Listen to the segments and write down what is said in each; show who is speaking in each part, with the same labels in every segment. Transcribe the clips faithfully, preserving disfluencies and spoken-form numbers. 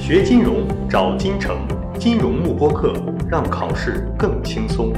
Speaker 1: 学金融找金城，金融慕播课，让考试更轻松。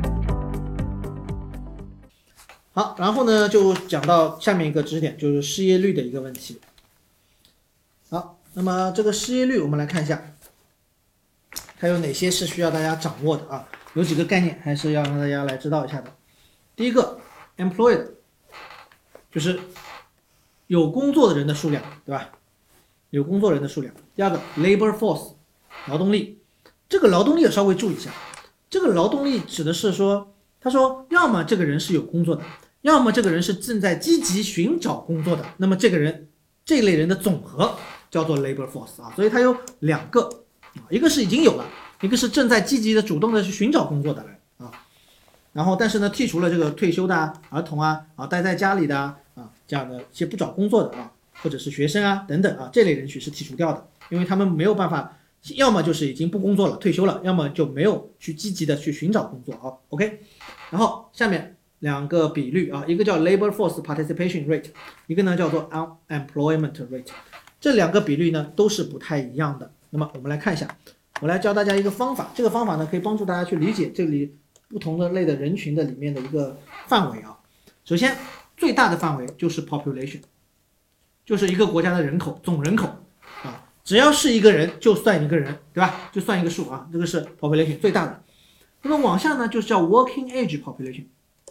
Speaker 2: 好，然后呢，就讲到下面一个知识点，就是失业率的一个问题。好，那么这个失业率我们来看一下，它有哪些是需要大家掌握的啊？有几个概念还是要让大家来知道一下的。第一个 employed 就是有工作的人的数量，对吧？有工作人的数量。第二个 labor force 劳动力，这个劳动力要稍微注意一下，这个劳动力指的是说，他说要么这个人是有工作的，要么这个人是正在积极寻找工作的，那么这个人这类人的总和叫做 labor force 啊，所以它有两个，一个是已经有了，一个是正在积极的主动的去寻找工作的人啊。然后但是呢，剔除了这个退休的啊、儿童啊、啊待在家里的啊啊这样的一些不找工作的啊，或者是学生啊等等啊，这类人群是剔除掉的，因为他们没有办法，要么就是已经不工作了退休了，要么就没有去积极的去寻找工作啊。OK， 然后下面两个比率啊，一个叫 labor force participation rate， 一个呢叫做 unemployment rate， 这两个比率呢都是不太一样的。那么我们来看一下，我来教大家一个方法，这个方法呢可以帮助大家去理解这里不同的类的人群的里面的一个范围啊。首先最大的范围就是 population， 就是一个国家的人口总人口啊，只要是一个人就算一个人，对吧？就算一个数啊，这个是 population 最大的。那么往下呢就是叫 working age population，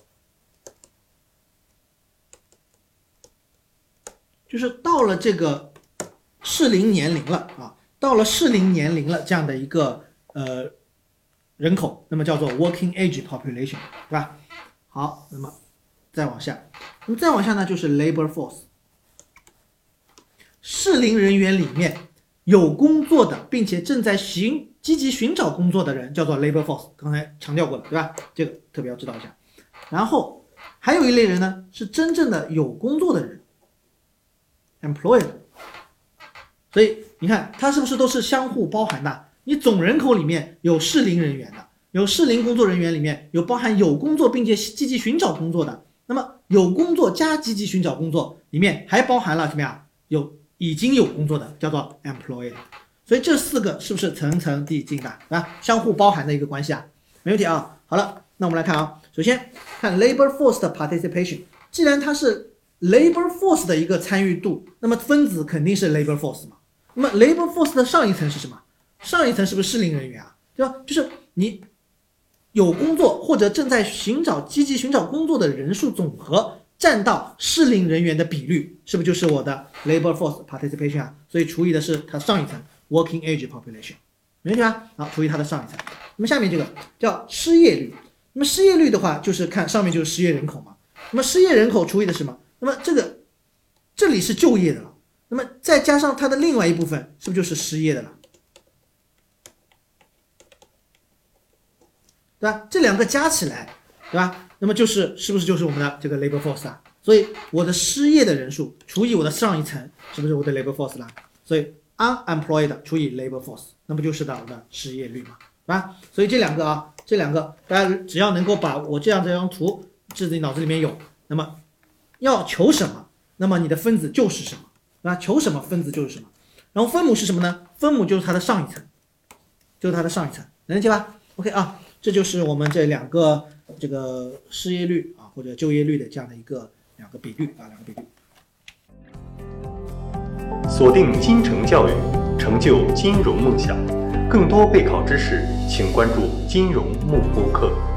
Speaker 2: 就是到了这个适龄年龄了啊，到了适龄年龄了这样的一个呃人口，那么叫做 working age population， 对吧？好，那么再往下，那么再往下呢就是 labor force， 适龄人员里面有工作的并且正在寻积极寻找工作的人叫做 labor force， 刚才强调过了，对吧？这个特别要知道一下。然后还有一类人呢是真正的有工作的人 employed， 所以你看它是不是都是相互包含的？你总人口里面有适龄人员的，有适龄工作人员里面有包含有工作并且积极寻找工作的，那么有工作加积极寻找工作里面还包含了什么呀？有已经有工作的叫做 employed， 所以这四个是不是层层递进的啊？相互包含的一个关系啊，没问题啊。好了，那我们来看啊，首先看 labor force 的 participation， 既然它是 labor force 的一个参与度，那么分子肯定是 labor force 嘛。那么 labor force 的上一层是什么？上一层是不是适龄人员啊？对吧？就是你有工作或者正在寻找积极寻找工作的人数总和占到适龄人员的比率，是不是就是我的 labor force participation 啊？所以除以的是它上一层 working age population， 没问题吧？好，除以它的上一层。那么下面这个叫失业率，那么失业率的话就是看上面就是失业人口嘛，那么失业人口除以的是什么？那么这个这里是就业的了，那么再加上它的另外一部分是不是就是失业的了？对吧？这两个加起来，对吧？那么就是是不是就是我们的这个 labor force 啊？所以我的失业的人数除以我的上一层，是不是我的 labor force 啦？所以 unemployed 除以 labor force， 那么就是我的失业率嘛，对吧？所以这两个啊，这两个大家只要能够把我这样这张图自己脑子里面有，那么要求什么，那么你的分子就是什么，对吧？求什么分子就是什么。然后分母是什么呢？分母就是它的上一层，就是它的上一层，能理解吧 ？OK 啊。这就是我们这两个这个失业率啊或者就业率的这样的一个两个比率啊两个比率。
Speaker 1: 锁定金城教育，成就金融梦想。更多备考知识，请关注金融慕播课。